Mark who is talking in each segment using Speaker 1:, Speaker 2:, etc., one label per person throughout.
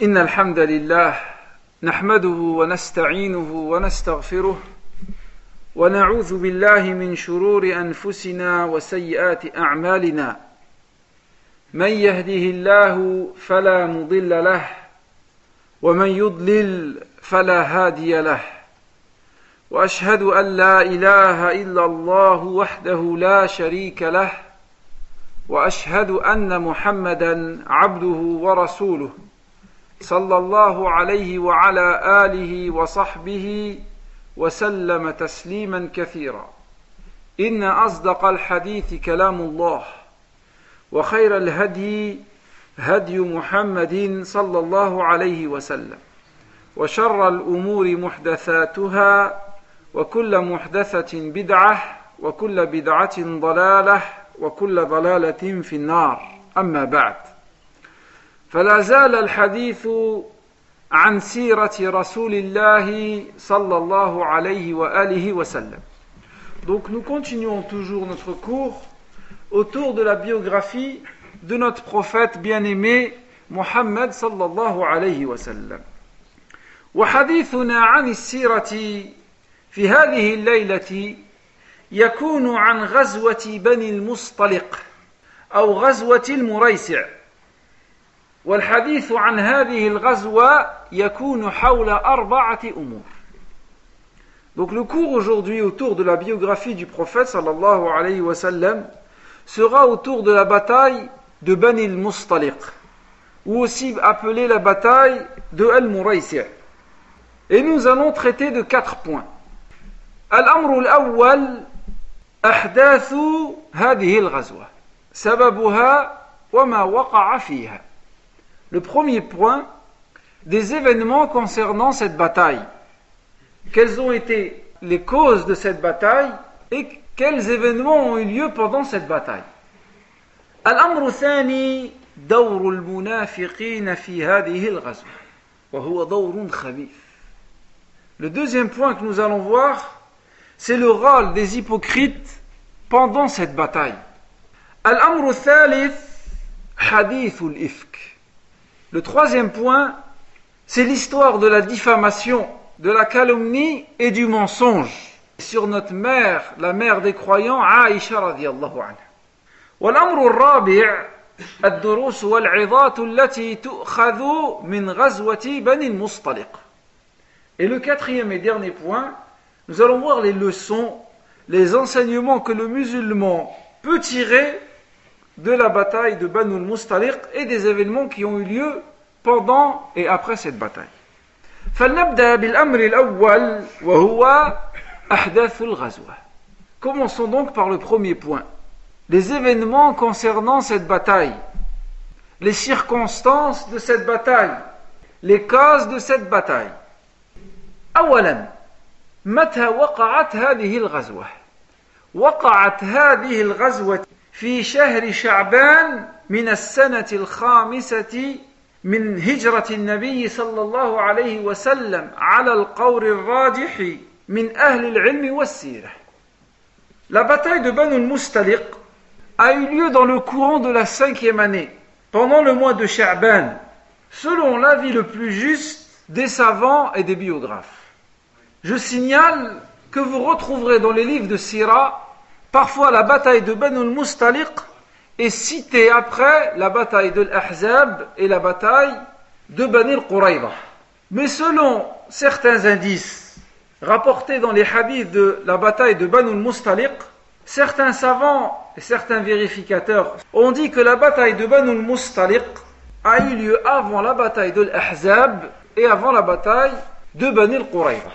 Speaker 1: إن الحمد لله نحمده ونستعينه ونستغفره ونعوذ بالله من شرور أنفسنا وسيئات أعمالنا من يهده الله فلا مضل له ومن يضلل فلا هادي له وأشهد أن لا إله إلا الله وحده لا شريك له وأشهد أن محمدا عبده ورسوله صلى الله عليه وعلى آله وصحبه وسلم تسليما كثيرا إن أصدق الحديث كلام الله وخير الهدي هدي محمد صلى الله عليه وسلم وشر الأمور محدثاتها وكل محدثة بدعة وكل بدعة ضلالة وكل ضلالة في النار أما بعد فلا زال الحديث عن سيرة رسول الله صلى الله عليه وآله وسلم. Donc nous continuons toujours notre cours autour de la biographie de notre prophète bien-aimé Muhammad sallallahu alayhi wa sallam. وحديثنا عن السيرة في هذه الليلة يكون عن غزوة بني المصطلق أو غزوة المريسع. والحديث عن هذه الغزوة يكون حول أربعة أمور. Donc le cours aujourd'hui autour de la biographie du prophète sallallahu alayhi wa sallam sera autour de la bataille de Bani al-Mustaliq, ou aussi appelée la bataille de Al-Muraysi'. Et nous allons traiter de 4 points. الأمر الأول أحداث هذه الغزوة سببها وما وقع فيها. Le premier point, des événements concernant cette bataille. Quelles ont été les causes de cette bataille et quels événements ont eu lieu pendant cette bataille. الأمر الثاني دور المنافقين في هذه الغزوة وهو دور خبيث. Le deuxième point que nous allons voir, c'est le rôle des hypocrites pendant cette bataille. الأمر الثالث حديث الإفك. Le troisième point, c'est l'histoire de la diffamation, de la calomnie et du mensonge sur notre mère, la mère des croyants, Aïcha radiyallahu anha. والأمر الرابع الدروس والعظات التي تؤخذ من غزوة بني المصطلق. Et le quatrième et dernier point, nous allons voir les leçons, les enseignements que le musulman peut tirer de la bataille de Banu al-Mustaliq et des événements qui ont eu lieu pendant et après cette bataille. فلنبدأ بالأمر الأول وهو أحداث الغزوة. Commençons donc par le premier point. Les événements concernant cette bataille, les circonstances de cette bataille, les causes de cette bataille. أولا متى وقعت هذه الغزوة؟ وقعت هذه الغزوة في شهر شعبان من السنة الخامسة من هجرة النبي صلى الله عليه وسلم على القول الراجح من أهل العلم والسيرة. La bataille de Banu al-Mustaliq a eu lieu dans le courant de la 5e année, pendant le mois de Sha'ban, selon l'avis le plus juste des savants et des biographes. Je signale que vous retrouverez dans les livres de Sira, parfois la bataille de Banu al-Mustaliq est citée après la bataille de l'Ahzab et la bataille de Bani al-Qurayza. Mais selon certains indices rapportés dans les hadiths de la bataille de Banu al-Mustaliq, certains savants et certains vérificateurs ont dit que la bataille de Banu al-Mustaliq a eu lieu avant la bataille de l'Ahzab et avant la bataille de Bani al-Qurayza.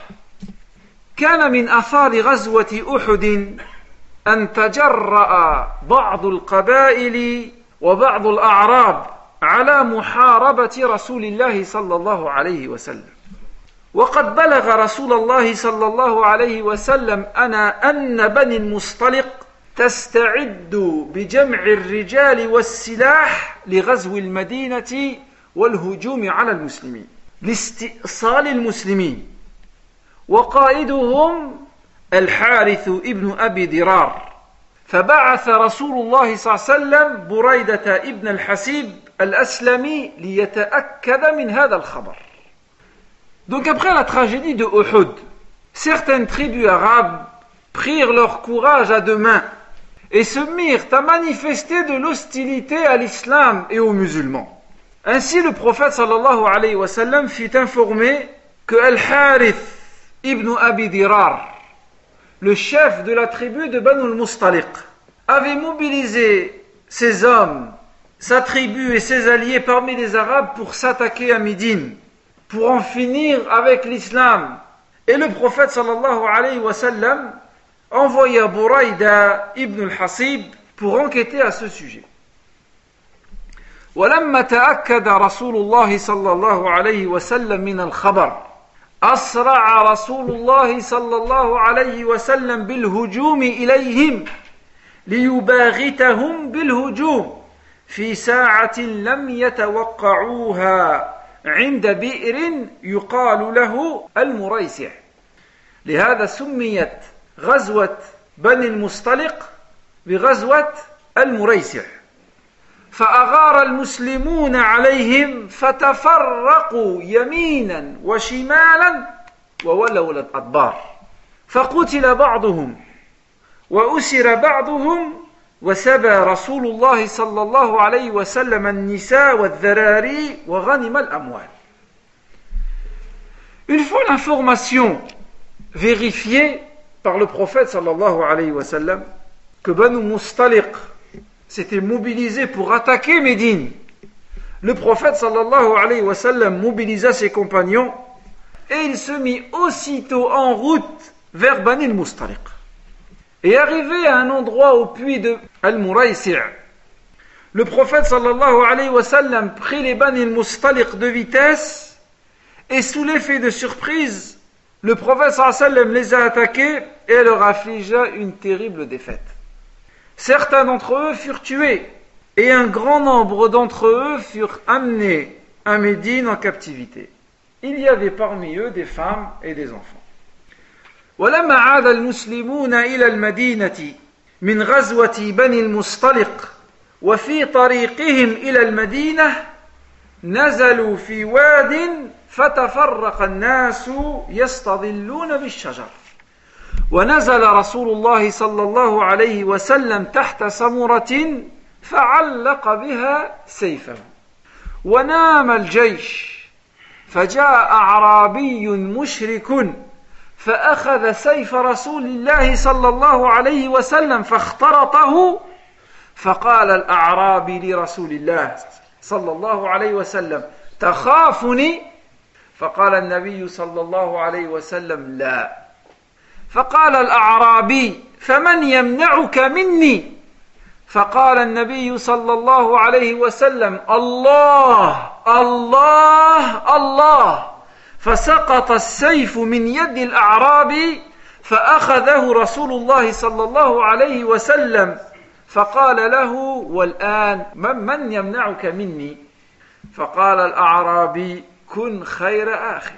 Speaker 1: كان من آثار غزوة أحد أن تجرأ بعض القبائل وبعض الأعراب على محاربة رسول الله صلى الله عليه وسلم. وقد بلغ رسول الله صلى الله عليه وسلم أن بني المصطلق تستعد بجمع الرجال والسلاح لغزو المدينة والهجوم على المسلمين لاستئصال المسلمين. وقائدهم الحارث ابن أبي درار فبعث رسول الله صلى الله عليه وسلم بريدة ابن الحسيب الأسلمي ليتأكد من هذا الخبر. Donc après la tragédie de Uhud, certaines tribus arabes prirent leur courage à deux mains et se mirent à manifester de l'hostilité à l'islam et aux musulmans. Ainsi le prophète sallallahu alayhi wa sallam fut informé que Al-Harith ibn Abi Dirar, le chef de la tribu de Banu al-Mustaliq, avait mobilisé ses hommes, sa tribu et ses alliés parmi les Arabes pour s'attaquer à Médine, pour en finir avec l'islam. Et le prophète sallallahu alayhi wa sallam envoya Burayda ibn al-Hasib pour enquêter à ce sujet. ولما تأكد رسول الله صلى الله عليه وسلم من الخبر أسرع رسول الله صلى الله عليه وسلم بالهجوم إليهم ليباغتهم بالهجوم في ساعة لم يتوقعوها عند بئر يقال له المريسع. لهذا سميت غزوة بني المصطلق بغزوة المريسع. فأغار المسلمون عليهم فتفرقوا يمينا وشمالا وولوا الأدبار، فقتل بعضهم وأسر بعضهم وسبى رسول الله صلى الله عليه وسلم النساء والذراري وغنم الأموال. Une fois l'information vérifiée par le prophète sallallahu alayhi wa sallam que Banu Mustaliq s'était mobilisé pour attaquer Médine, le prophète sallallahu alayhi wa sallam mobilisa ses compagnons et il se mit aussitôt en route vers Bani al-Mustaliq. Et arrivé à un endroit au puits de Al-Muraysi', le prophète sallallahu alayhi wa sallam prit les Bani al-Mustaliq de vitesse et sous l'effet de surprise, le prophète sallallahu alayhi wa sallam les a attaqués et leur affligea une terrible défaite. Certains d'entre eux furent tués et un grand nombre d'entre eux furent amenés à Médine en captivité. Il y avait parmi eux des femmes et des enfants. ولما عاد المسلمون إلى المدينة من غزوة بني المصطلق وفي طريقهم إلى المدينة نزلوا في واد فتفرق الناس يستظلون بالشجر ونزل رسول الله صلى الله عليه وسلم تحت سمرة فعلق بها سيفه ونام الجيش فجاء أعرابي مشرك فأخذ سيف رسول الله صلى الله عليه وسلم فاخترطه فقال الأعرابي لرسول الله صلى الله عليه وسلم تخافني؟ فقال النبي صلى الله عليه وسلم لا. فقال الأعرابي فمن يمنعك مني؟ فقال النبي صلى الله عليه وسلم الله الله الله. فسقط السيف من يد الأعرابي فأخذه رسول الله صلى الله عليه وسلم فقال له والآن من يمنعك مني؟ فقال الأعرابي كن خير آخ.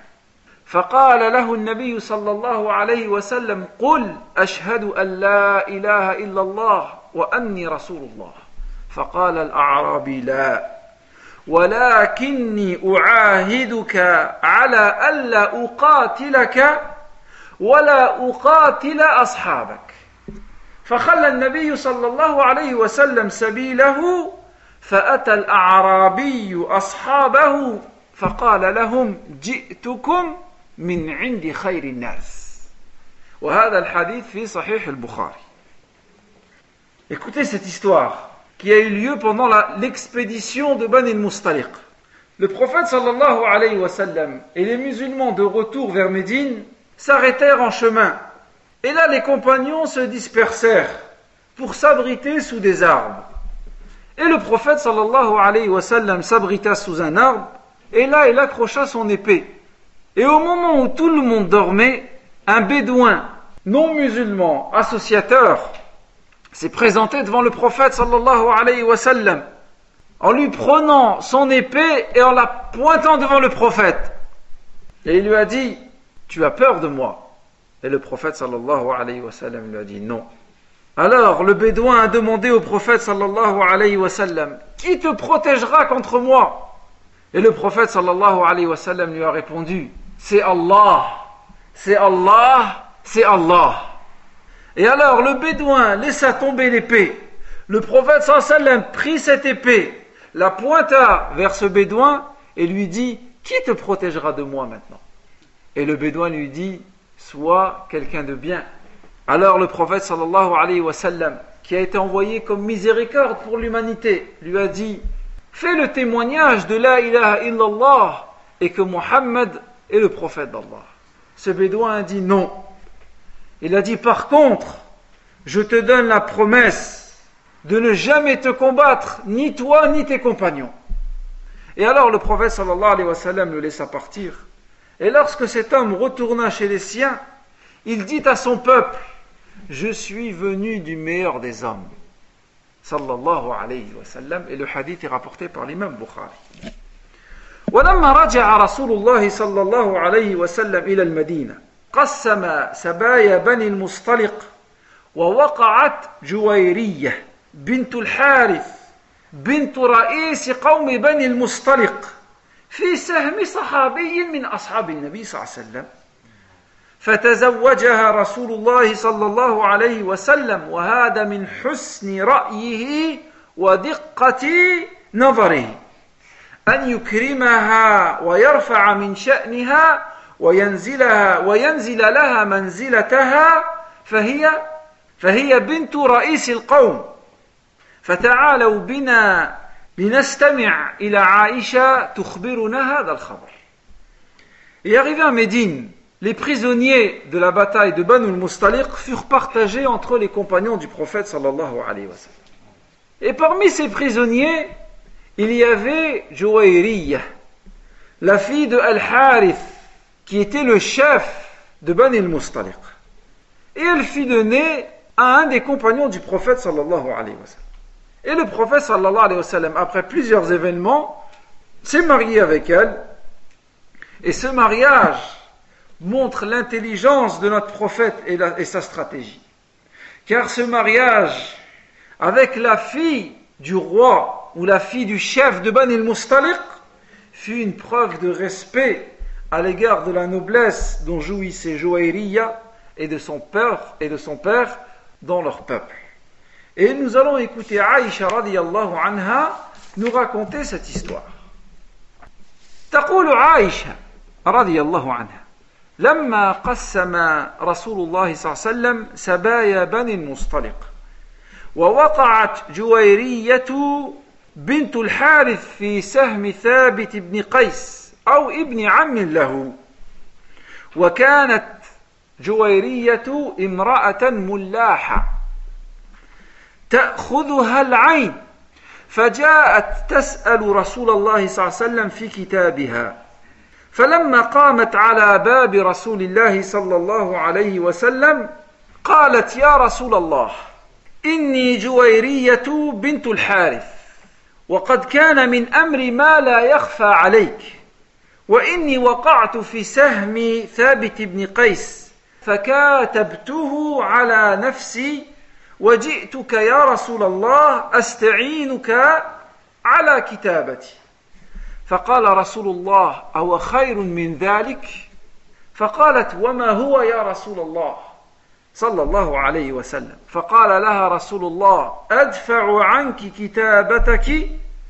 Speaker 1: فقال له النبي صلى الله عليه وسلم قل أشهد أن لا إله إلا الله وأني رسول الله. فقال الأعرابي لا ولكني أعاهدك على ألا أقاتلك ولا أقاتل أصحابك. فخلى النبي صلى الله عليه وسلم سبيله فأتى الأعرابي أصحابه فقال لهم جئتكم من عند خير الناس. وهذا الحديث في صحيح البخاري. Écoutez cette histoire qui a eu lieu pendant l'expédition de Bani al-Mustaliq. Le prophète sallallahu alayhi wa sallam et les musulmans de retour vers Médine s'arrêtèrent en chemin. Et là, les compagnons se dispersèrent pour s'abriter sous des arbres. Et le prophète sallallahu alayhi wa sallam s'abrita sous un arbre, et là, il accrocha son épée. Et au moment où tout le monde dormait, un bédouin non musulman, associateur, s'est présenté devant le prophète sallallahu alayhi wa sallam en lui prenant son épée et en la pointant devant le prophète. Et il lui a dit « Tu as peur de moi ?» Et le prophète sallallahu alayhi wa sallam lui a dit « Non, Alors le bédouin a demandé au prophète sallallahu alayhi wa sallam, qui te protégera contre moi? Et le prophète sallallahu alayhi wa sallam lui a répondu, c'est Allah, c'est Allah, c'est Allah. Et alors le bédouin laissa tomber l'épée. Le prophète sallallahu alayhi wa sallam prit cette épée, la pointa vers ce bédouin et lui dit, qui te protégera de moi maintenant? Et le bédouin lui dit, sois quelqu'un de bien. Alors le prophète sallallahu alayhi wa sallam, qui a été envoyé comme miséricorde pour l'humanité, lui a dit, fais le témoignage de la ilaha illallah et que Muhammad est le prophète d'Allah. Ce bédouin a dit non. Il a dit, par contre, je te donne la promesse de ne jamais te combattre, ni toi ni tes compagnons. Et alors le prophète sallallahu alayhi wa sallam le laissa partir. Et lorsque cet homme retourna chez les siens, il dit à son peuple, je suis venu du meilleur des hommes. Sallallahu alayhi wa sallam. Et le hadith est rapporté par l'imam Bukhari. ولما رجع رسول الله صلى الله عليه وسلم إلى المدينة قسم سبايا بني المصطلق ووقعت جويرية بنت الحارث بنت رئيس قوم بني المصطلق في سهم صحابي من أصحاب النبي صلى الله عليه وسلم فتزوجها رسول الله صلى الله عليه وسلم وهذا من حسن رأيه ودقة نظره أن يكرمها ويرفع من شأنها وينزل لها منزلتها فهي بنت رئيس القوم فتعالوا بنا لنستمع إلى عائشة تخبرنا هذا الخبر. Et arrivé à Médine, les prisonniers de la bataille de Banu al-Mustaliq furent partagés entre les compagnons du prophète sallallahu alayhi wa sallam. Et parmi ces prisonniers, il y avait Juwayriyah, la fille de Al-Harith, qui était le chef de Bani al-Mustaliq. Et elle fit donner à un des compagnons du prophète sallallahu alayhi wa sallam. Et le prophète sallallahu alayhi wa sallam, après plusieurs événements, s'est marié avec elle. Et ce mariage montre l'intelligence de notre prophète et sa stratégie. Car ce mariage avec la fille du roi ou la fille du chef de Bani al-Mustaliq fut une preuve de respect à l'égard de la noblesse dont jouissait Juwayriyah et de son père dans leur peuple. Et nous allons écouter Aïcha radiyallahu anha nous raconter cette histoire. تقول عائشة رضي الله عنها لما قسم رسول الله صلى الله عليه وسلم سبايا بني المصطلق ووقعت جويرية بنت الحارث في سهم ثابت بن قيس أو ابن عم له وكانت جويرية امرأة ملاحة تأخذها العين فجاءت تسأل رسول الله صلى الله عليه وسلم في كتابها فلما قامت على باب رسول الله صلى الله عليه وسلم قالت يا رسول الله إني جويرية بنت الحارث وقد كان من أمر ما لا يخفى عليك وإني وقعت في سهم ثابت بن قيس فكاتبته على نفسي وجئتك يا رسول الله أستعينك على كتابتي فقال رسول الله أو خير من ذلك فقالت وما هو يا رسول الله صلى الله عليه وسلم فقال لها رسول الله أدفع عنك كتابتك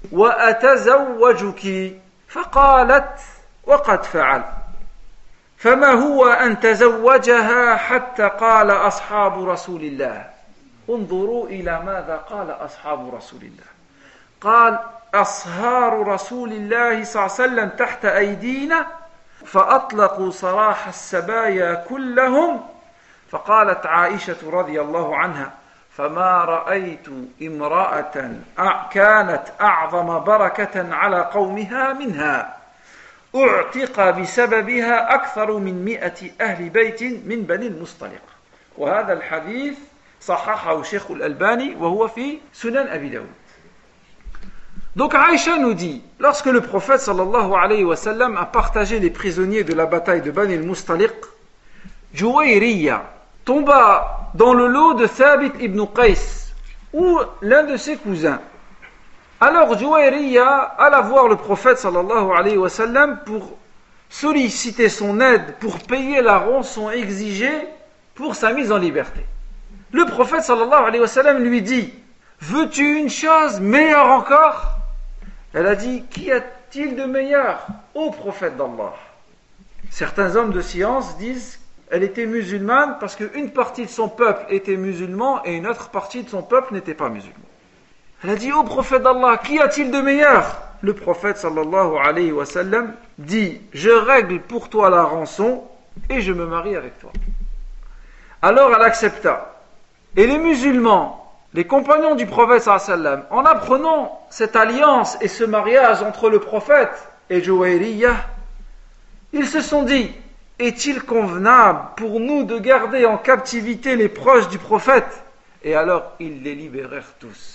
Speaker 1: وأتزوجك فقالت وقد فعل فما هو أن تزوجها حتى قال أصحاب رسول الله انظروا إلى ماذا قال أصحاب رسول الله قال أصهار رسول الله صلى الله عليه وسلم تحت أيدينا فأطلقوا سراح السبايا كلهم فقالت عائشة رضي الله عنها فما رأيت امرأة كانت أعظم بركة على قومها منها أعتق بسببها أكثر من 100 أهل بيت من بني المصطلق وهذا الحديث صححه الشيخ الألباني وهو في سنن أبي داود. Donc Aïcha nous dit, lorsque le prophète sallallahu alayhi wa sallam a partagé les prisonniers de la bataille de Bani al-Mustaliq, Juwayriyah tomba dans le lot de Thabit ibn Qais, ou l'un de ses cousins. Alors Juwayriya alla voir le prophète sallallahu alayhi wa sallam pour solliciter son aide, pour payer la rançon exigée pour sa mise en liberté. Le prophète sallallahu alayhi wa sallam lui dit: veux-tu une chose meilleure encore? Elle a dit: qu'y a-t-il de meilleur, ô prophète d'Allah? Certains hommes de science disent qu'elle était musulmane parce qu'une partie de son peuple était musulman et une autre partie de son peuple n'était pas musulman. Elle a dit: ô prophète d'Allah, qu'y a-t-il de meilleur? Le prophète sallallahu alayhi wa sallam dit: je règle pour toi la rançon et je me marie avec toi. Alors elle accepta. Et les musulmans, les compagnons du prophète sallallahu alayhi wa sallam, en apprenant cette alliance et ce mariage entre le prophète et Juwayriya, ils se sont dit: est-il convenable pour nous de garder en captivité les proches du prophète? Et alors ils les libérèrent tous.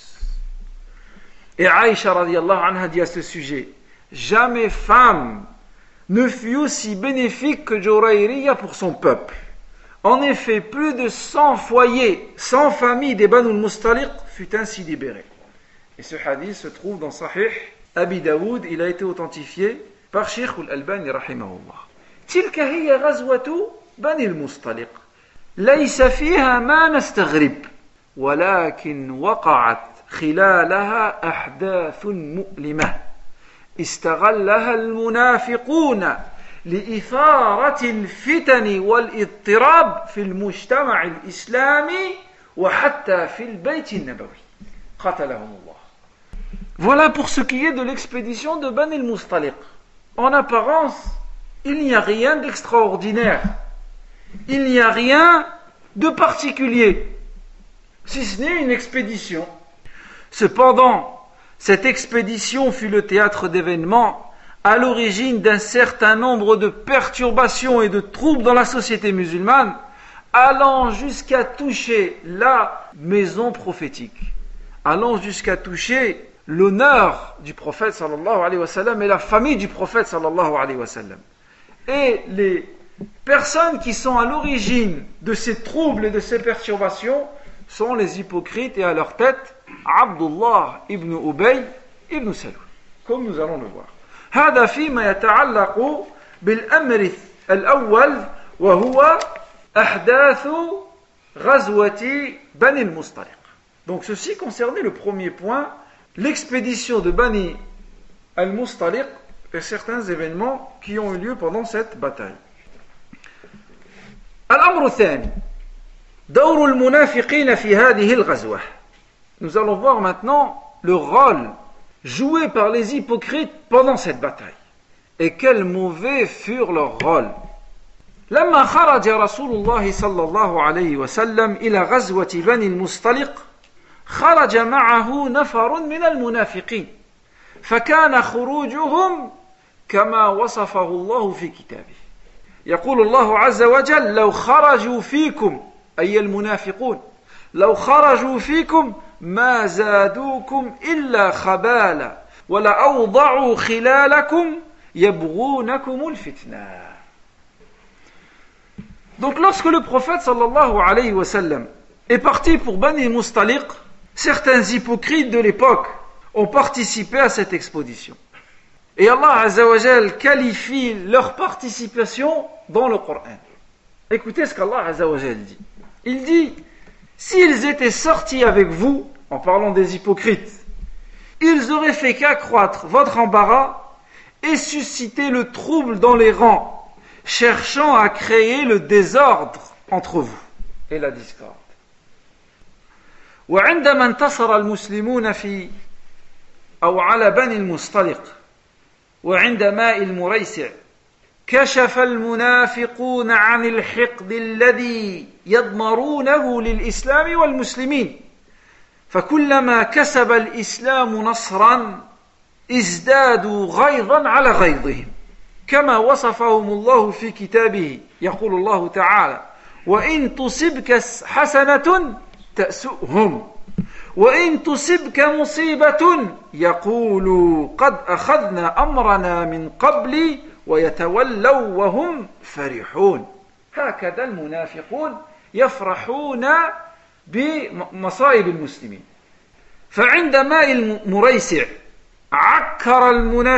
Speaker 1: Et Aïcha radiyallahu anha dit à ce sujet: jamais femme ne fut aussi bénéfique que Juwayriya pour son peuple. En effet, plus de 100 foyers, 100 familles des Banu al-Mustaliq fut ainsi libérées. Et ce hadith se trouve dans Sahih Abi Daoud. Il a été authentifié par Sheikh al-Albani rahimahullah. تلك هي غزوة بني المصطلق ليس فيها ما نستغرب ولكن وقعت خلالها أحداث مؤلمة استغلها المنافقون لإثارة الفتن والاضطراب في المجتمع الإسلامي وحتى في البيت النبوي قتلهم الله. Voilà pour ce qui est de l'expédition de Bani al-Mustaliq. En apparence, il n'y a rien d'extraordinaire, il n'y a rien de particulier, si ce n'est une expédition. Cependant, cette expédition fut le théâtre d'événements à l'origine d'un certain nombre de perturbations et de troubles dans la société musulmane, allant jusqu'à toucher la maison prophétique, allant jusqu'à toucher l'honneur du prophète sallallahu alayhi wa sallam et la famille du prophète sallallahu alayhi wa sallam. Et les personnes qui sont à l'origine de ces troubles et de ces perturbations sont les hypocrites et à leur tête Abdullah ibn Ubay ibn Salul, comme nous allons le voir. هذا فيما يتعلق بالأمر الأول وهو أحداث غزوة بني المصطلق. Donc ceci concernait le premier point, l'expédition de Bani al-Mustaliq et certains événements qui ont eu lieu pendant cette bataille. الأمر الثاني دور المنافقين في هذه الغزوة. Nous allons voir maintenant le rôle joué par les hypocrites pendant cette bataille. Et quels mauvais furent leurs rôles. لما خرج رسول الله صلى الله عليه وسلم إلى غزوة بني المصطلق خرج معه نفر من المنافقين فكان خروجهم كما وصفه الله في كتابه. يقول الله عز وجل: لو خرجوا فيكم أي المنافقون لو خرجوا فيكم ما زادوكم إلا خبالا ولأوضعوا خلالكم يبغونكم الفتنة. Donc lorsque le prophète sallallahu alayhi wa sallam est parti pour Bani Mustaliq, certains hypocrites de l'époque ont participé à cette expédition. Et Allah Azza wa Jal qualifie leur participation dans le Coran. Écoutez ce qu'Allah Azza wa Jal dit. Il dit: s'ils étaient sortis avec vous, en parlant des hypocrites, ils auraient fait qu'accroître votre embarras et susciter le trouble dans les rangs, cherchant à créer le désordre entre vous et la discorde. وعندما انتصر المسلمون في أو على بني المصطلق وعند ماء المريسع كشف المنافقون عن الحقد الذي يضمرونه للإسلام والمسلمين فكلما كسب الإسلام نصرا ازدادوا غيظا على غيظهم كما وصفهم الله في كتابه. يقول الله تعالى: وإن تصبك حسنة تأسؤهم وإن تصبك مصيبة يقولوا قد أخذنا أمرنا من قبل ويتولوا وهم فرحون. هكذا المنافقون يفرحون بمصائب المسلمين. فعند ماء المريسع عكر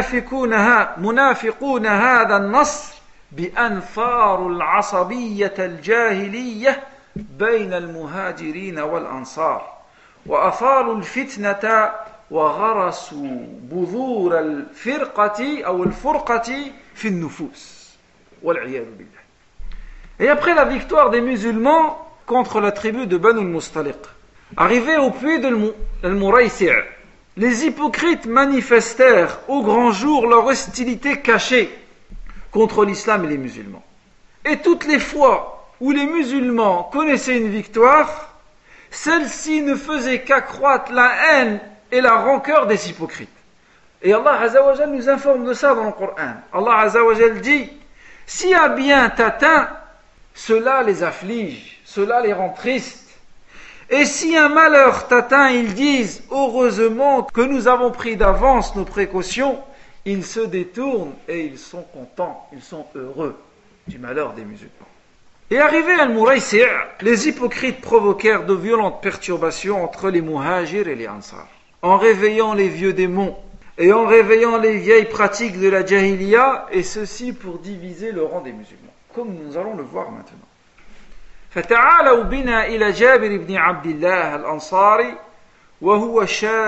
Speaker 1: المنافقون هذا النصر بأنفار العصبية الجاهلية بين المهاجرين والأنصار وأثاروا الفتنة وغرسوا بذور الفرقة أو الفرقة في النفوس والعياذ بالله. Et après la victoire des musulmans contre la tribu de Banu al-Mustaliq, arrivés au puits de Al-Muraysi', les hypocrites manifestèrent au grand jour leur hostilité cachée contre l'islam et les musulmans. Et toutes les fois où les musulmans connaissaient une victoire, celle-ci ne faisait qu'accroître la haine et la rancœur des hypocrites. Et Allah Azza wa Jal nous informe de ça dans le Coran. Allah Azza wa Jal dit: si un bien t'atteint, cela les afflige, cela les rend tristes. Et si un malheur t'atteint, ils disent: heureusement que nous avons pris d'avance nos précautions. Ils se détournent et ils sont contents, ils sont heureux du malheur des musulmans. Et arrivés à Al-Muraysi', les hypocrites provoquèrent de violentes perturbations entre les muhajirs et les ansar, en réveillant les vieux démons et en réveillant les vieilles pratiques de la jahiliya, et ceci pour diviser le rang des musulmans, comme nous allons le voir maintenant. فتعالوا بنا إلى جابر بن عبد الله الأنصاري وهو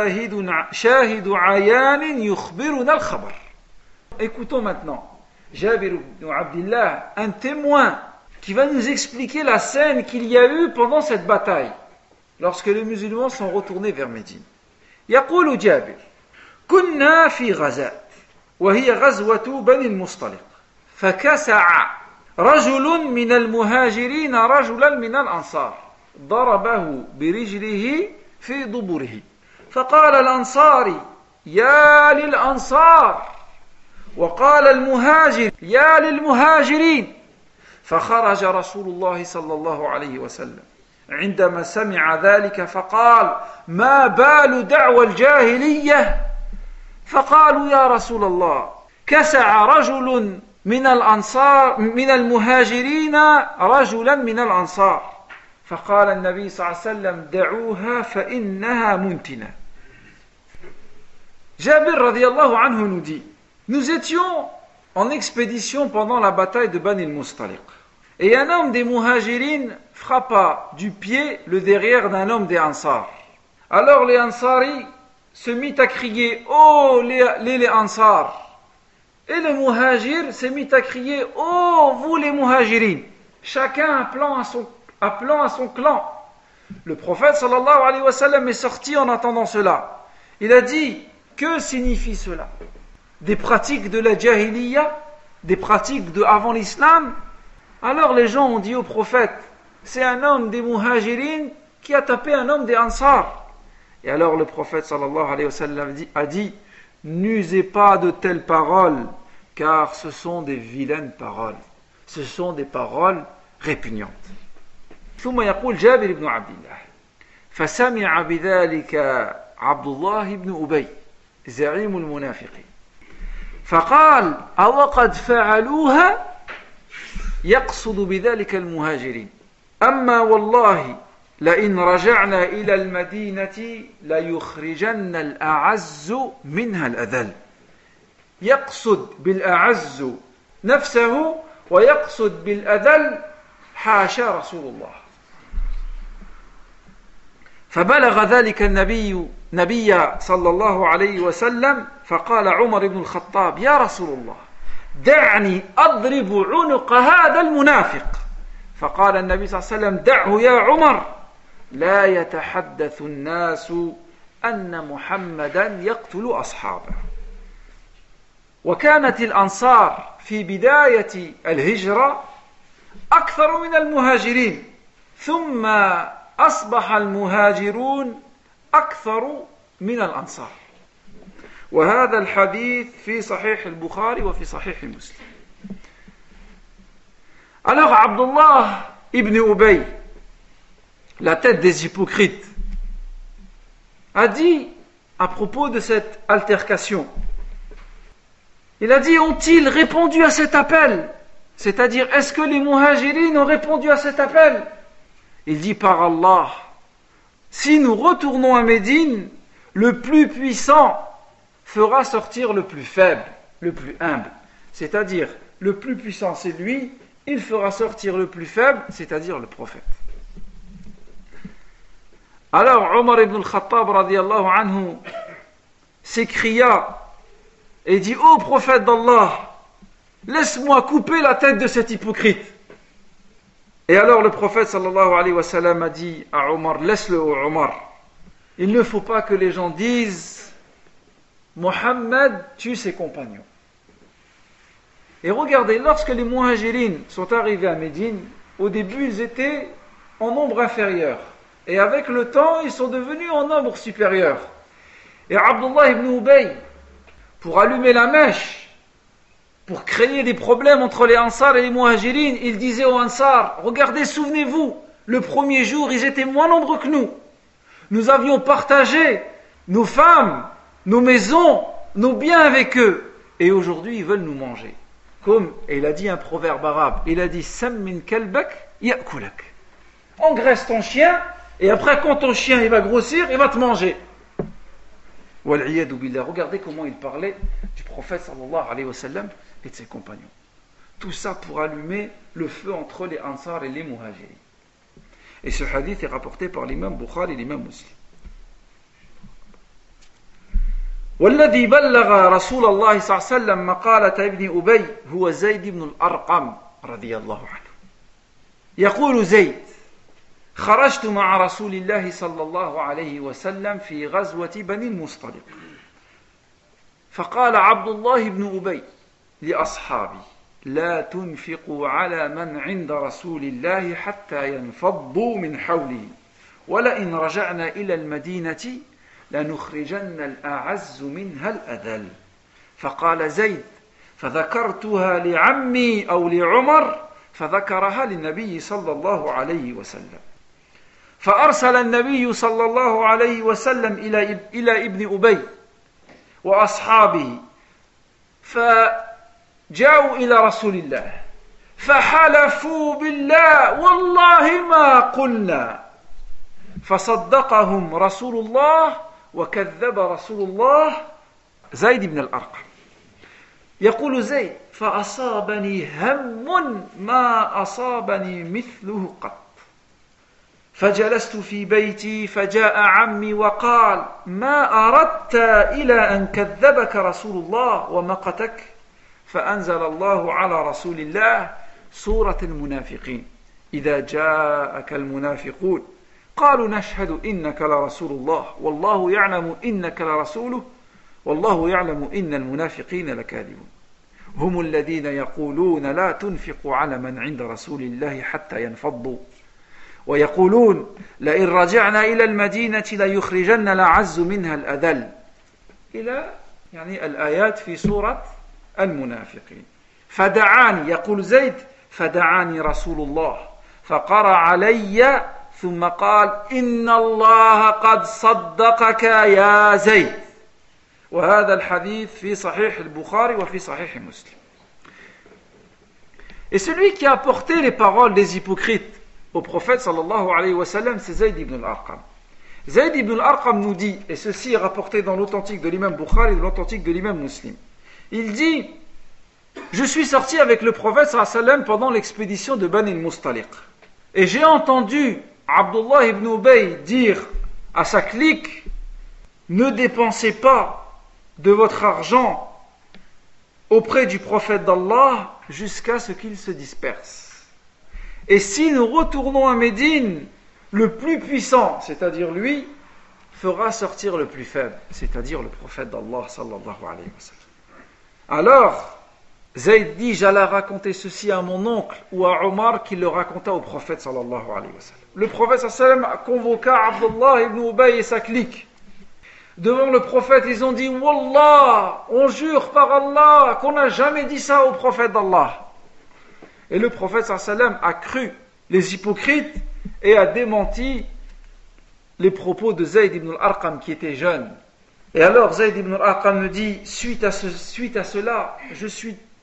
Speaker 1: شاهد عيان يخبرنا الخبر. Écoutons maintenant Jabir ibn Abdillah, un témoin qui va nous expliquer la scène qu'il y a eu pendant cette bataille, lorsque les musulmans sont retournés vers Médine. يقول جابر: كنا في غزاة وهي غزوة بني المصطلق، فكسع رجل من المهاجرين رجلا من الأنصار ضربه برجله في ضبره، فقال الأنصاري: يا للأنصار، وقال المهاجر: يا للمهاجرين. فخرج رسول الله صلى الله عليه وسلم عندما سمع ذلك فقال: ما بال دعوى الجاهلية؟ فقالوا: يا رسول الله، كسع رجل من الأنصار من المهاجرين رجلا من الأنصار. فقال النبي صلى الله عليه وسلم: دعوها فإنها منتنة. Jabir radiyallahu anhu nous dit: nous étions en expédition pendant la bataille de Bani al-Mustaliq, et un homme des muhajirines frappa du pied le derrière d'un homme des Ansar. Alors les Ansari se mit à crier: oh les Ansar! Et le muhajir se mit à crier: oh vous les muhajirines! Chacun appelant à son clan. Le prophète sallallahu alayhi wa sallam est sorti en attendant cela. Il a dit: que signifie cela? Des pratiques de la jahiliya, des pratiques de avant l'islam? Alors les gens ont dit au prophète: c'est un homme des muhajirines qui a tapé un homme des ansar. Et alors le prophète sallallahu alayhi wa sallam a dit: n'usez pas de telles paroles, car ce sont des vilaines paroles, ce sont des paroles répugnantes. ثم يقول جابر بن عبد الله: فسمع بذلك عبد الله بن أبي زعيم المنافقين فقال: أوقد فعلوها؟ يقصد بذلك المهاجرين. أما والله لئن رجعنا إلى المدينة ليخرجن الأعز منها الأذل. يقصد بالأعز نفسه ويقصد بالأذل حاشا رسول الله. فبلغ ذلك النبي صلى الله عليه وسلم فقال عمر بن الخطاب: يا رسول الله، دعني أضرب عنق هذا المنافق. فقال النبي صلى الله عليه وسلم: دعه يا عمر، لا يتحدث الناس أن محمدا يقتل أصحابه. وكانت الأنصار في بداية الهجرة أكثر من المهاجرين، ثم أصبح المهاجرون أكثر من الأنصار. وهذا الحديث في صحيح البخاري وفي صحيح مسلم. Alors Abdullah ibn Ubay, la tête des hypocrites, a dit à propos de cette altercation, il a dit: ont-ils répondu à cet appel? C'est-à-dire, est-ce que les muhajirines ont répondu à cet appel? Il dit par Allah, si nous retournons à Médine, le plus puissant fera sortir le plus faible, le plus humble. C'est-à-dire, le plus puissant c'est lui, il fera sortir le plus faible, c'est-à-dire le prophète. Alors Omar ibn al-Khattab radiyallahu anhu s'écria et dit: ô prophète d'Allah, laisse-moi couper la tête de cet hypocrite. Et alors le prophète sallallahu alayhi wa sallam a dit à Omar: laisse-le, ô Omar, il ne faut pas que les gens disent Mohammed tue ses compagnons. Et regardez, lorsque les Muhajirines sont arrivés à Médine, au début ils étaient en nombre inférieur. Et avec le temps, ils sont devenus en nombre supérieur. Et Abdullah ibn Ubay, pour allumer la mèche, pour créer des problèmes entre les Ansar et les Muhajirines, il disait aux Ansar: regardez, souvenez-vous, le premier jour, ils étaient moins nombreux que nous. Nous avions partagé nos femmes, nos maisons, nos biens avec eux. Et aujourd'hui, ils veulent nous manger. Comme, et il a dit un proverbe arabe, il a dit: Sammin kalbak ya'kulak. Engraisse ton chien, et après, quand ton chien il va grossir, il va te manger. Wal'iyadu billah. Regardez comment il parlait du prophète sallallahu alayhi wa sallam et de ses compagnons. Tout ça pour allumer le feu entre les Ansar et les Muhajirin. Et ce hadith est rapporté par l'imam Bukhari et l'imam Muslim. والذي بلغ رسول الله صلى الله عليه وسلم مقالة ابن أبي هو زيد بن الأرقم رضي الله عنه. يقول زيد: خرجت مع رسول الله صلى الله عليه وسلم في غزوة بني المصطلق، فقال عبد الله بن أبي لأصحابي: لا تنفقوا على من عند رسول الله حتى ينفضوا من حوله، ولئن رجعنا إلى المدينة لنخرجن الأعز منها الأذل. فقال زيد: فذكرتها لعمي أو لعمر، فذكرها للنبي صلى الله عليه وسلم. فأرسل النبي صلى الله عليه وسلم إلى ابن أبي وأصحابه، فجاءوا إلى رسول الله فحلفوا بالله والله ما قلنا، فصدقهم رسول الله وكذب رسول الله. زيد بن الأرقم يقول زيد: فأصابني هم ما أصابني مثله قط، فجلست في بيتي فجاء عمي وقال: ما أردت إلى أن كذبك رسول الله ومقتك؟ فأنزل الله على رسول الله سورة المنافقين: إذا جاءك المنافقون قالوا نشهد إنك لرسول الله والله يعلم إنك لرسوله والله يعلم إن المنافقين لكاذبون هم الذين يقولون لا تنفقوا على من عند رسول الله حتى ينفضوا ويقولون لئن رجعنا إلى المدينة ليخرجن الأعز منها الأذل، إلى يعني الآيات في سورة المنافقين. فدعاني، يقول زيد: فدعاني رسول الله فقرأ علي ثم قال: إن الله قد صدقك يا زيد. وهذا الحديث في صحيح البخاري وفي صحيح مسلم. Et celui qui a apporté les paroles des hypocrites au prophète sallallahu alayhi wa sallam, c'est Zayd ibn al-Arqam. Zayd ibn al-Arqam nous dit, et ceci est rapporté dans l'authentique de l'imam Bukhari et de l'authentique de l'imam Muslim, il dit: je suis sorti avec le prophète sallallahu alayhi wa sallam pendant l'expédition de Bani al-Mustaliq, et j'ai entendu Abdullah ibn Ubay dire à sa clique: ne dépensez pas de votre argent auprès du prophète d'Allah jusqu'à ce qu'il se disperse. Et si nous retournons à Médine, le plus puissant, c'est-à-dire lui, fera sortir le plus faible, c'est-à-dire le prophète d'Allah sallallahu alayhi wa sallam. Alors, Zayd dit: j'allais raconter ceci à mon oncle ou à Omar qui le raconta au prophète sallallahu alayhi wa sallam. Le prophète sallallahu alayhi wa sallam convoqua Abdullah ibn Ubay et sa clique. Devant le prophète, ils ont dit: Wallah, on jure par Allah qu'on n'a jamais dit ça au prophète d'Allah. Et le prophète sallallahu alayhi wa sallam a cru les hypocrites et a démenti les propos de Zayd ibn al-Arqam qui était jeune. Et alors Zayd ibn al-Arqam me dit: suite à cela,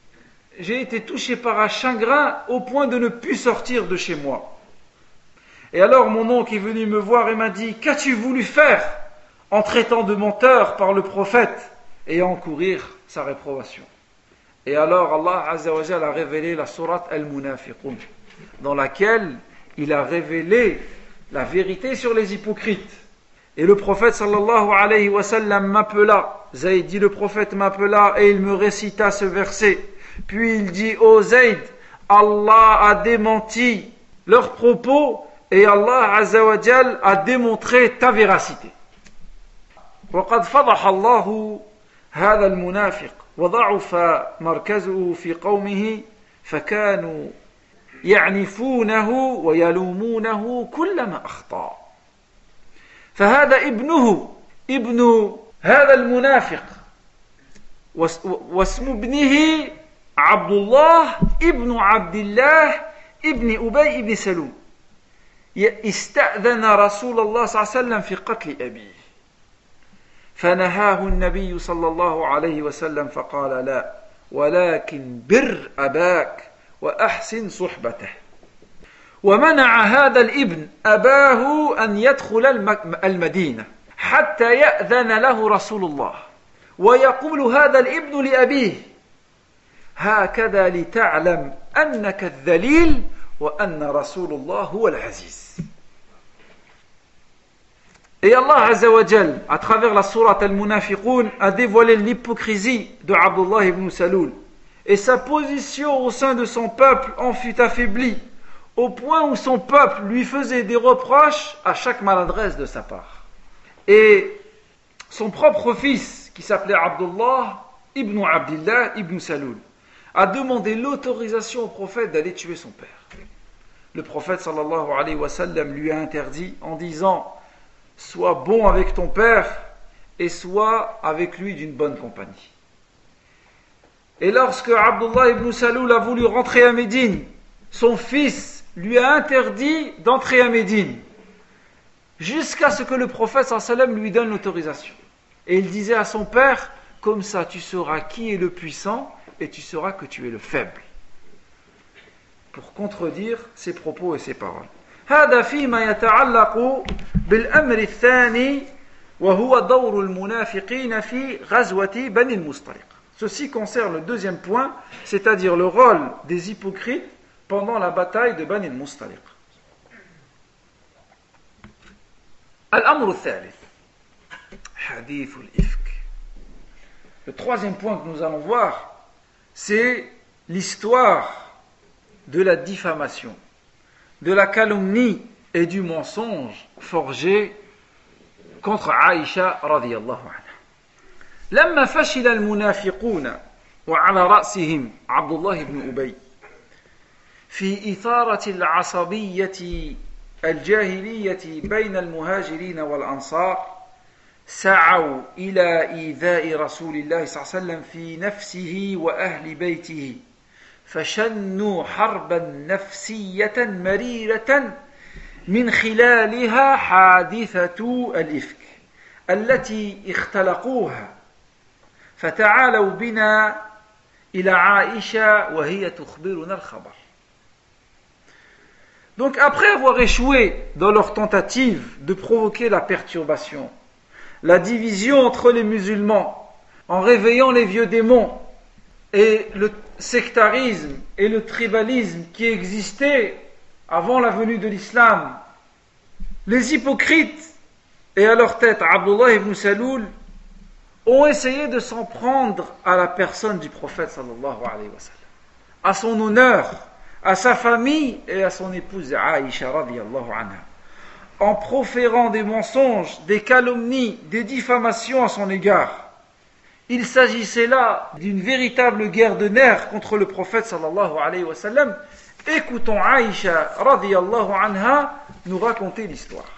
Speaker 1: j'ai été touché par un chagrin au point de ne plus sortir de chez moi. Et alors mon oncle est venu me voir et m'a dit, qu'as-tu voulu faire en traitant de menteur par le prophète et à encourir sa réprobation? Et alors Allah Azza wa Jalla a révélé la sourate Al-Munafiqun, dans laquelle il a révélé la vérité sur les hypocrites. Et le prophète sallallahu alayhi wa sallam m'appela, Zayd dit, le prophète m'appela et il me récita ce verset. Puis il dit, ô Zayd, Allah a démenti leurs propos et Allah Azza wa Jal a démontré ta véracité. وقد فضح الله هذا المنافق وضعف مركزه في قومه فكانوا يعنفونه ويلومونه كلما أخطأ. فهذا ابن هذا المنافق واسم ابنه عبد الله ابن عبد الله ابن أبي بن سلول استأذن رسول الله صلى الله عليه وسلم في قتل أبيه فنهاه النبي صلى الله عليه وسلم فقال لا ولكن بر أباك وأحسن صحبته. ومنع هذا الابن أباه أن يدخل المدينة حتى يأذن له رسول الله ويقول هذا الابن لأبيه هكذا لتعلم أنك الذليل وأن رسول الله هو العزيز. Et Allah Azza wa Jal, à travers la sourate Al-Munafiqun, a dévoilé l'hypocrisie de Abdullah ibn Saloul. Et sa position au sein de son peuple en fut affaiblie, au point où son peuple lui faisait des reproches à chaque maladresse de sa part. Et son propre fils, qui s'appelait Abdullah ibn Abdillah ibn Saloul, a demandé l'autorisation au prophète d'aller tuer son père. Le prophète sallallahu alayhi wa sallam lui a interdit en disant: sois bon avec ton père et sois avec lui d'une bonne compagnie. Et lorsque Abdullah ibn Saloul a voulu rentrer à Médine, son fils lui a interdit d'entrer à Médine jusqu'à ce que le prophète sallallahu alayhi wa sallam lui donne l'autorisation. Et il disait à son père: comme ça tu sauras qui est le puissant et tu sauras que tu es le faible, pour contredire ses propos et ses paroles. هذا فيما يتعلق بالأمر الثاني وهو دور المنافقين في غزوة بني المصطلق. Ceci concerne le deuxième point, c'est-à-dire le rôle des hypocrites pendant la bataille de Bani al-Mustaliq. الأمر الثالث حديث الإفك. Le troisième point que nous allons voir, c'est l'histoire de la diffamation, de la calomnie et du mensonge forgé contre Aïcha radiyallahu anha. لما فشل المنافقون وعلى رأسهم عبد الله بن أبي في إثارة العصبية الجاهلية بين المهاجرين والأنصار سعوا إلى إيذاء رسول الله صلى الله عليه وسلم في نفسه وأهل بيته فشنوا حربا نفسية مريرة من خلالها حادثة الإفك التي اختلقوها فتعالوا بنا إلى عائشة وهي تخبرنا الخبر. Donc après avoir échoué dans leur tentative de provoquer la perturbation, la division entre les musulmans en réveillant les vieux démons et le sectarisme et le tribalisme qui existaient avant la venue de l'islam, les hypocrites et à leur tête Abdullah ibn Saloul ont essayé de s'en prendre à la personne du prophète sallallahu alayhi wa sallam, à son honneur, à sa famille et à son épouse Aïcha radiyallahu anha, en proférant des mensonges, des calomnies, des diffamations à son égard. Il s'agissait là d'une véritable guerre de nerfs contre le prophète sallallahu alayhi wa sallam. Écoutons Aïcha radiyallahu anha nous raconter l'histoire.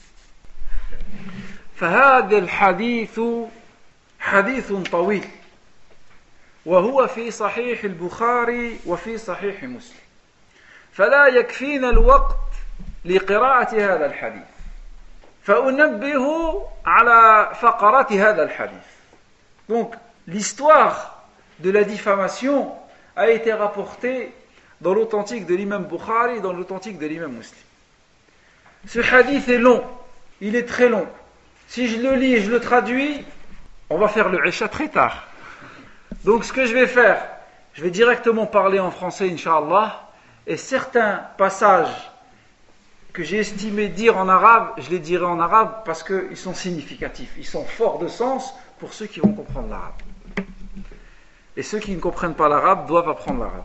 Speaker 1: فهذا الحديث حديث طويل وهو في صحيح البخاري وفي صحيح مسلم فلا يكفينا الوقت لقراءة هذا الحديث فأنبه على فقرات هذا الحديث. Donc l'histoire de la diffamation a été rapportée dans l'authentique de l'imam Bukhari et dans l'authentique de l'imam Muslim. Ce hadith est long, il est très long. Si je le lis et je le traduis, on va faire le Isha très tard. Donc ce que je vais faire, je vais directement parler en français, Inch'Allah, et certains passages que j'ai estimé dire en arabe, je les dirai en arabe parce qu'ils sont significatifs, ils sont forts de sens pour ceux qui vont comprendre l'arabe. Et ceux qui ne comprennent pas l'arabe doivent apprendre l'arabe.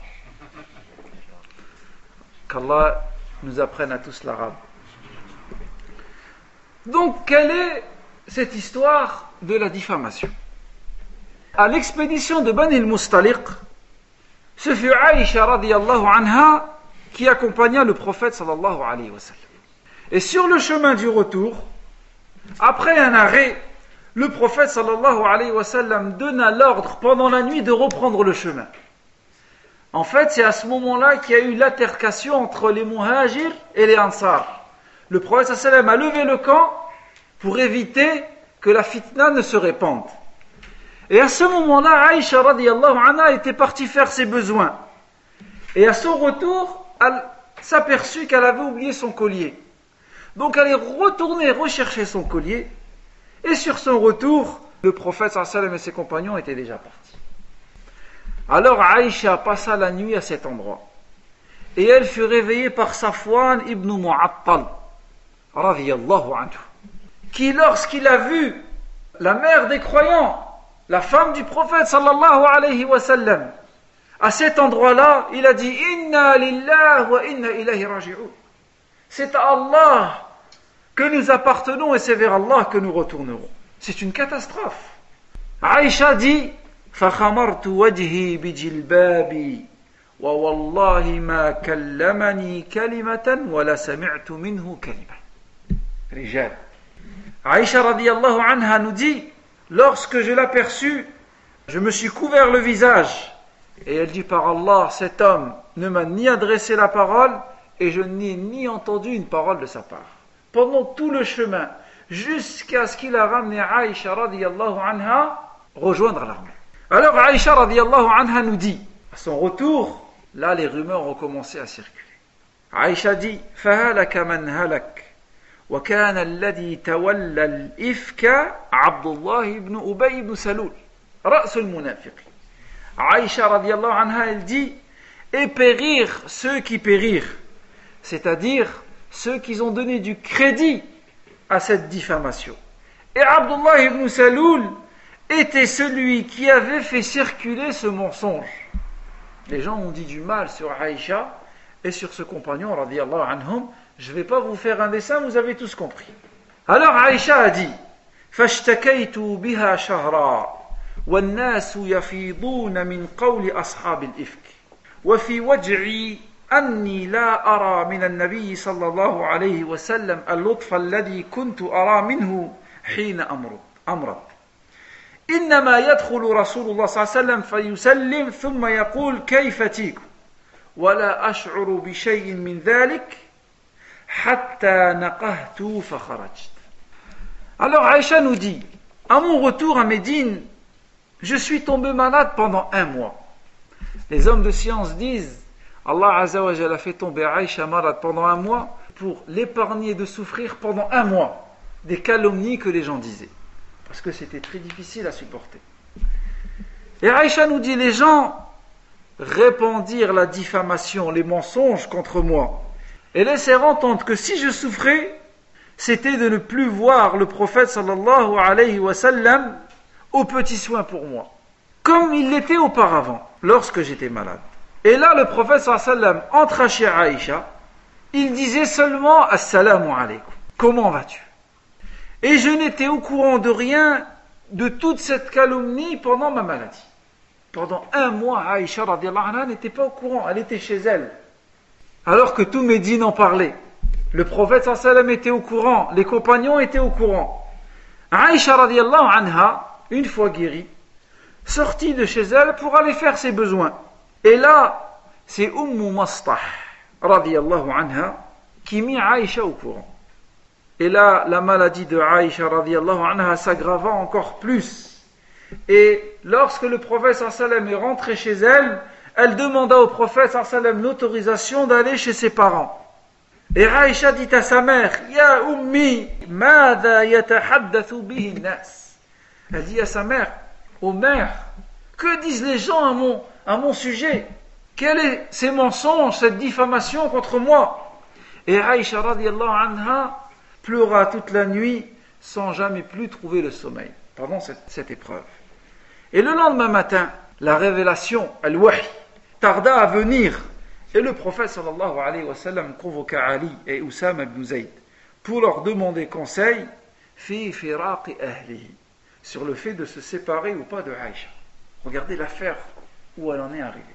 Speaker 1: Qu'Allah nous apprenne à tous l'arabe. Donc, quelle est cette histoire de la diffamation? À l'expédition de Bani al-Mustaliq, ce fut Aïcha radiyallahu anha qui accompagna le prophète sallallahu alayhi wa sallam. Et sur le chemin du retour, après un arrêt, le prophète sallallahu alayhi wa sallam donna l'ordre pendant la nuit de reprendre le chemin. En fait, c'est à ce moment-là qu'il y a eu l'altercation entre les muhajirs et les ansar. Le prophète sallallahu alayhi wa sallam a levé le camp pour éviter que la fitna ne se répande. Et à ce moment-là, Aïcha radiyallahu anha était partie faire ses besoins. Et à son retour, elle s'aperçut qu'elle avait oublié son collier. Donc elle est retournée rechercher son collier. Et sur son retour, le prophète sallallahu alayhi wa sallam et ses compagnons étaient déjà partis. Alors Aïcha passa la nuit à cet endroit. Et elle fut réveillée par Safwan ibn Mu'attal, radiyallahu anhu, qui lorsqu'il a vu la mère des croyants, la femme du prophète sallallahu alayhi wa sallam, à cet endroit-là, il a dit « Inna lillah wa inna ilayhi raji'un » C'est à Allah que nous appartenons et c'est vers Allah que nous retournerons. C'est une catastrophe. Aïcha dit « فَخَمَرْتُ وَجْهِي بِجِلْبَابِي وَوَاللَّهِ مَا كَلَّمَنِي كَلِمَةً وَلَا سَمِعْتُ مِنْهُ كَلِمَةً » Rijal. Aïcha radiyallahu anha nous dit « Lorsque je l'aperçus, je me suis couvert le visage. » Et elle dit par Allah, cet homme ne m'a ni adressé la parole et je n'ai ni entendu une parole de sa part. Pendant tout le chemin, jusqu'à ce qu'il a ramené Aïcha radiyallahu anha rejoindre l'armée. Alors Aïcha radiyallahu anha nous dit, à son retour, là les rumeurs ont commencé à circuler. Aïcha dit, فَهَلَكَ مَنْ هَلَكَ وَكَانَ الَّذِي تَوَلَّى الْإِفْكَ عَبْدُ اللَّهِ بْنُ أُبَيْ بْنُ سَلُولٍ رَأْسُ الْمُنَافِقِ. Aïcha radiyallahu anha, elle dit, et périr ceux qui périrent, c'est-à-dire ceux qui ont donné du crédit à cette diffamation. Et Abdullah ibn Saloul était celui qui avait fait circuler ce mensonge. Les gens ont dit du mal sur Aïcha et sur ce compagnon radiyallahu anhum. Je ne vais pas vous faire un dessin, vous avez tous compris. Alors Aïcha a dit, فَاشْتَكَيْتُ بِهَا شَهْرًا والناس يفيضون من قول أصحاب الإفك وفي وجعي أني لا أرى من النبي صلى الله عليه وسلم اللطف الذي كنت أرى منه حين أمرض إنما يدخل رسول الله صلى الله عليه وسلم فيسلم ثم يقول كيف تيك ولا أشعر بشيء من ذلك حتى نقهت فخرجت. Alors Aïcha nous dit, à mon retour à Médine, je suis tombé malade pendant 1 mois. Les hommes de science disent, Allah Azza wa Jalla a fait tomber Aïcha malade pendant 1 mois pour l'épargner de souffrir pendant 1 mois des calomnies que les gens disaient. Parce que c'était très difficile à supporter. Et Aïcha nous dit, les gens répandirent la diffamation, les mensonges contre moi et laissèrent entendre que si je souffrais, c'était de ne plus voir le prophète sallallahu alayhi wa sallam aux petits soins pour moi, comme il l'était auparavant, lorsque j'étais malade. Et là, le prophète sallallahu alayhi wa sallam entra chez Aïcha, il disait seulement « Assalamu alaykum » comment vas-tu? Et je n'étais au courant de rien de toute cette calomnie pendant ma maladie. Pendant 1 mois, Aïcha radiyallahu anha n'était pas au courant, elle était chez elle. Alors que tout Médine en parlait. Le prophète sallallahu alayhi wa sallam était au courant, les compagnons étaient au courant. Aïcha radiyallahu anha, une fois guérie, sortit de chez elle pour aller faire ses besoins. Et là, c'est Ummu Mastah radiyallahu anha qui mit Aïcha au courant. Et là, la maladie de Aïcha radiyallahu anha s'aggrava encore plus. Et lorsque le prophète sallallahu alayhi wa sallam est rentré chez elle, elle demanda au prophète sallallahu alayhi wa sallam l'autorisation d'aller chez ses parents. Et Aïcha dit à sa mère, Ya ummi, madha yatahaddathu bihi nas. Elle dit à sa mère, ô mère, que disent les gens à mon sujet? Quels sont ces mensonges, cette diffamation contre moi? Et Aïcha radiallahu anha pleura toute la nuit sans jamais plus trouver le sommeil pendant cette épreuve. Et le lendemain matin, la révélation, al-wahy, tarda à venir. Et le prophète sallallahu alayhi wa sallam convoqua Ali et Oussama ibn Zayd pour leur demander conseil fi firaqi ahlihi, sur le fait de se séparer ou pas de Aïcha. Regardez l'affaire où elle en est arrivée.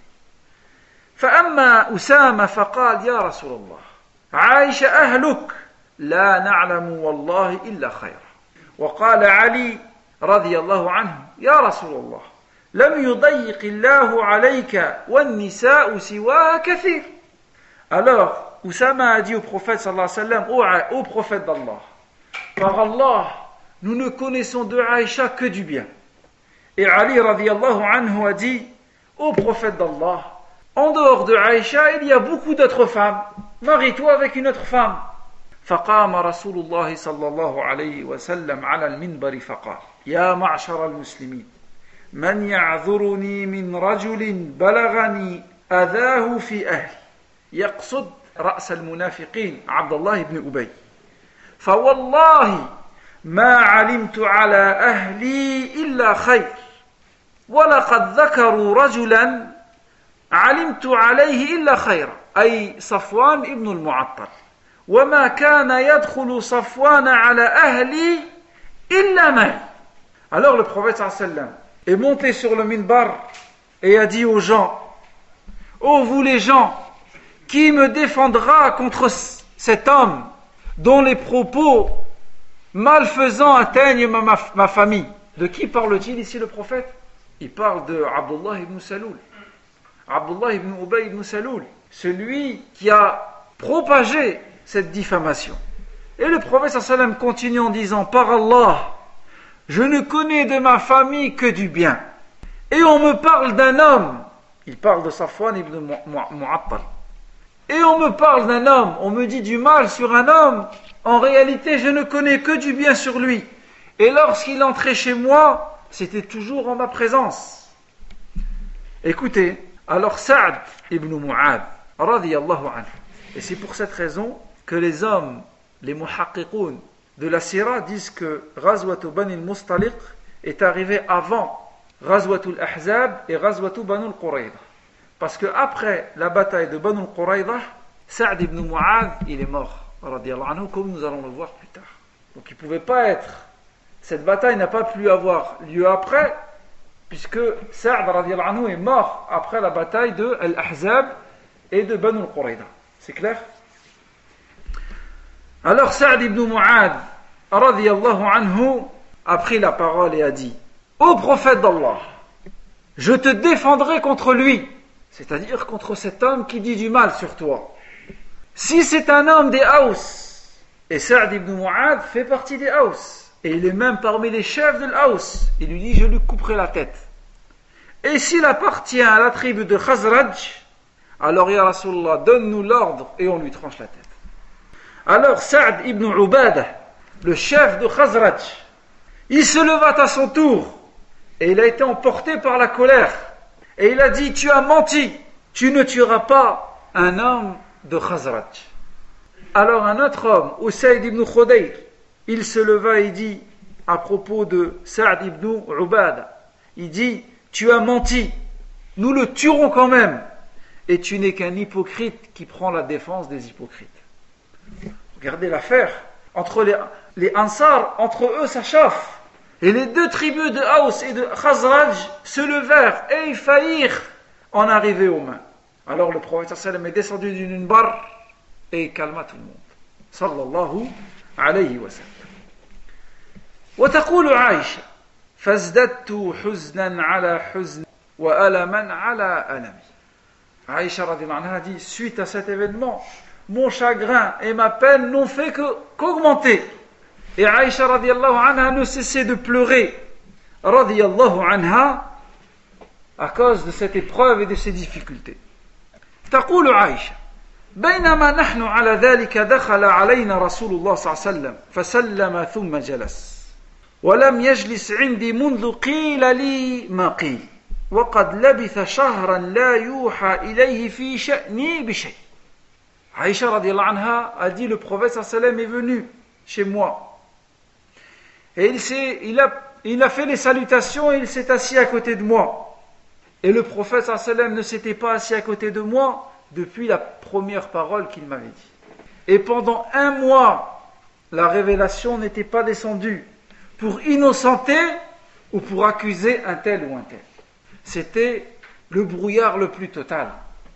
Speaker 1: فأما أسامة فقال يا رسول الله عائشة أهلك لا نعلم والله إلا خيرا. وقال علي رضي الله عنه يا رسول الله لم يضيق الله عليك والنساء سواها كثير. Alors Oussama a dit au prophète sallallahu alayhi wa sallam, au prophète d'Allah, par Allah, nous ne connaissons de Aïcha que du bien. Et Ali radiyallahu anhu a dit, au prophète d'Allah, en dehors de Aïcha, il y a beaucoup d'autres femmes. Marie-toi avec une autre femme. فقام رسول الله صلى الله عليه وسلم على المنبر فقال يا معشر المسلمين من يعذرني من رجل بلغني أذاه في أهلي. يقصد رأس المنافقين عبد الله بن أبي. فوالله ما علمت على أهلي إلا خير ولقد ذكروا رجلا علمت عليه إلا خيرا أي صفوان ابن المعطل وما كان يدخل صفوان على أهلي إلا معي. Alors le prophète sallallahu alayhi wa sallam est monté sur le minbar et a dit aux gens, ô vous les gens, qui me défendra contre cet homme dont les propos malfaisants atteignent ma famille? De qui parle-t-il ici le prophète? Il parle de Abdullah ibn Saloul. Abdullah ibn Ubay ibn Saloul, celui qui a propagé cette diffamation. Et le prophète sallallahu alayhi wa sallam continue en disant, par Allah, je ne connais de ma famille que du bien. Et on me parle d'un homme, il parle de Safwan ibn Mu'attal. Et on me parle d'un homme, on me dit du mal sur un homme, en réalité je ne connais que du bien sur lui. Et lorsqu'il entrait chez moi, c'était toujours en ma présence. Écoutez, alors Sa'd ibn Mu'adh, radiyallahu anhu, et c'est pour cette raison que les hommes, les muhaqqiqoun de la Sira disent que Ghazwatu Bani al-Mustaliq est arrivé avant Ghazwatu al-Ahzab et Ghazwatu Banu al-Qurayza. Parce que après la bataille de Banu al-Qurayza, Sa'd ibn Mu'adh, il est mort, radiyallahu anhu, comme nous allons le voir plus tard. Donc il ne pouvait pas être, cette bataille n'a pas pu avoir lieu après, puisque Sa'd radiyallahu anhu est mort après la bataille de Al-Ahzab et de Banu al-Qurayza. C'est clair? Alors Sa'd ibn Mu'adh radiyallahu anhu a pris la parole et a dit, ô prophète d'Allah, je te défendrai contre lui, c'est-à-dire contre cet homme qui dit du mal sur toi. Si c'est un homme des Haus, et Sa'd ibn Mu'adh fait partie des Haus, et il est même parmi les chefs de l'Haus, il lui dit, je lui couperai la tête. Et s'il appartient à la tribu de Khazraj, alors ya Rasulullah, donne-nous l'ordre et on lui tranche la tête. Alors Sa'd ibn Ubadah, le chef de Khazraj, il se leva à son tour et il a été emporté par la colère et il a dit, tu as menti, tu ne tueras pas un homme de Khazraj. Alors un autre homme, Usayd ibn Khudayr, il se leva et dit à propos de Sa'd ibn Ubadah, il dit, tu as menti, nous le tuerons quand même, et tu n'es qu'un hypocrite qui prend la défense des hypocrites. Regardez l'affaire, entre les Ansar, entre eux ça chauffe, et les deux tribus de Haus et de Khazraj se levèrent et ils faillirent en arriver aux mains. Alors le prophète sallallahu alayhi wa sallam est descendu du minbar et il calma tout le monde. Sallallahu alayhi wa sallam. وتقول عائشة فازددت حزنا على حزن وألما على ألمي. Aïcha radhiyallahu anha dit, suite à cet événement, mon chagrin et ma peine n'ont fait qu'augmenter. Et Aïcha radhiyallahu anha ne cessait de pleurer, radhiyallahu anha, à cause de cette épreuve et de ces difficultés. تقول عائشة بينما نحن على ذلك دخل علينا رسول الله صلى الله عليه وسلم فسلم ثم جلس ولم يجلس عندي منذ قيل لي ما قيل وقد لبث شهرا لا يوحى إليه في شأني بشيء. Aïcha radiallahu anha a dit, le prophète sallallahu alayhi wa sallam est venu chez moi et il a fait les salutations et il s'est assis à côté de moi, et le prophète sallallahu alayhi wa sallam ne s'était pas assis à côté de moi depuis la première parole qu'il m'avait dit, et pendant 1 mois la révélation n'était pas descendue pour innocenter ou pour accuser un tel ou un tel. C'était le brouillard le plus total.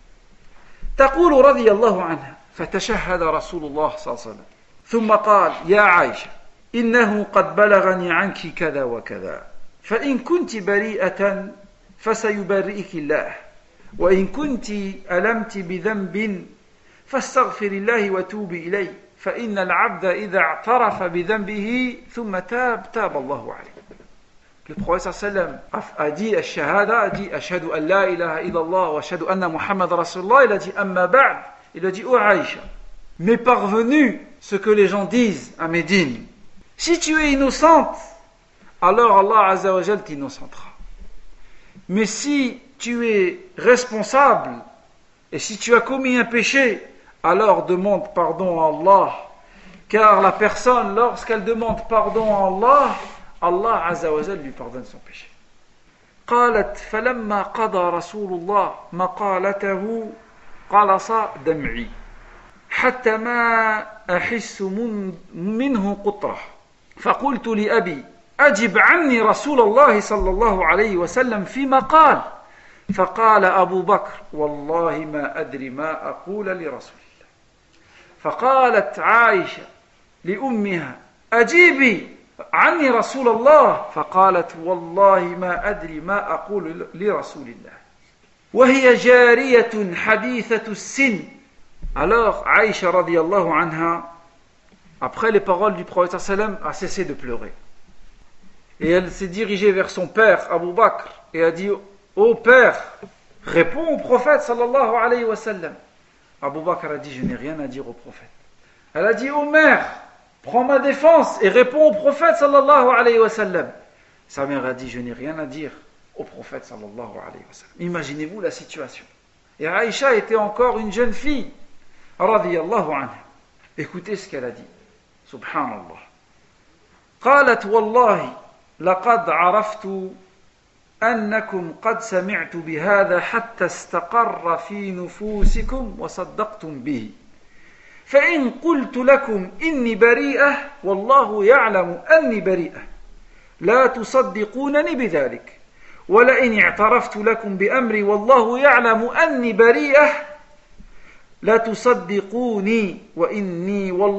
Speaker 1: تقول رضي الله عنها فتشهد رسول الله صلى الله عليه وسلم ثم قال يا عائشة إنه قد بلغني عنك كذا وكذا فإن كنت بريئة فسيبرئك الله وإن كنت ألمت بذنب فاستغفر الله وتوبي إليه فإن العبد إذا اعترف بذنبه ثم تاب الله عليه. Le prophète sallam a dit ash-shahada, a dit ashhadu an la ilaha illallah wa ashhadu anna Muhammad rasulullah, il a dit amma ba'd, il a dit oh Aïcha, m'est parvenu ce que les gens disent à Médine. Si tu es innocente, alors Allah azza wa jal t'innocentera. Mais si tu es responsable et si tu as commis un péché, alors demande pardon à Allah, car la personne lorsqu'elle demande pardon à Allah, Allah Azza wa Jal lui pardonne son péché. قالت فلما قضى رسول الله مقالته قلص دمعي حتى ما أحس منه قطرة فقلت لأبي أجب عني رسول الله صلى الله عليه وسلم فيما قال فقال أبو بكر والله ما أدري ما أقول لرسول الله. فقالت عائشة لأمها أجيبي عني رسول الله فقالت والله ما أدري ما أقول لرسول الله وهي جارية حديثة السن. Alors Aïcha radiallahu anha, après les paroles du prophète sallam, a cessé de pleurer et elle s'est dirigée vers son père Abu Bakr et a dit ô père, réponds au prophète sallallahu alayhi wa sallam. Abu Bakr a dit je n'ai rien à dire au prophète. Elle a dit ô mère, prends ma défense et réponds au prophète sallallahu alayhi wa sallam. Sa mère a dit je n'ai rien à dire au prophète sallallahu alayhi wa sallam. Imaginez-vous la situation. Et Aïcha était encore une jeune fille radiyallahu anha. Écoutez ce qu'elle a dit. Subhanallah. قالت والله لقد عرفت أنكم قد سمعت بهذا حتى استقر في نفوسكم وصدقتم به فإن قلت لكم إني بريئة والله يعلم أني بريئة لا تصدقونني بذلك ولئن اعترفت لكم بأمري والله يعلم أني بريئة لا تصدقوني وإني والله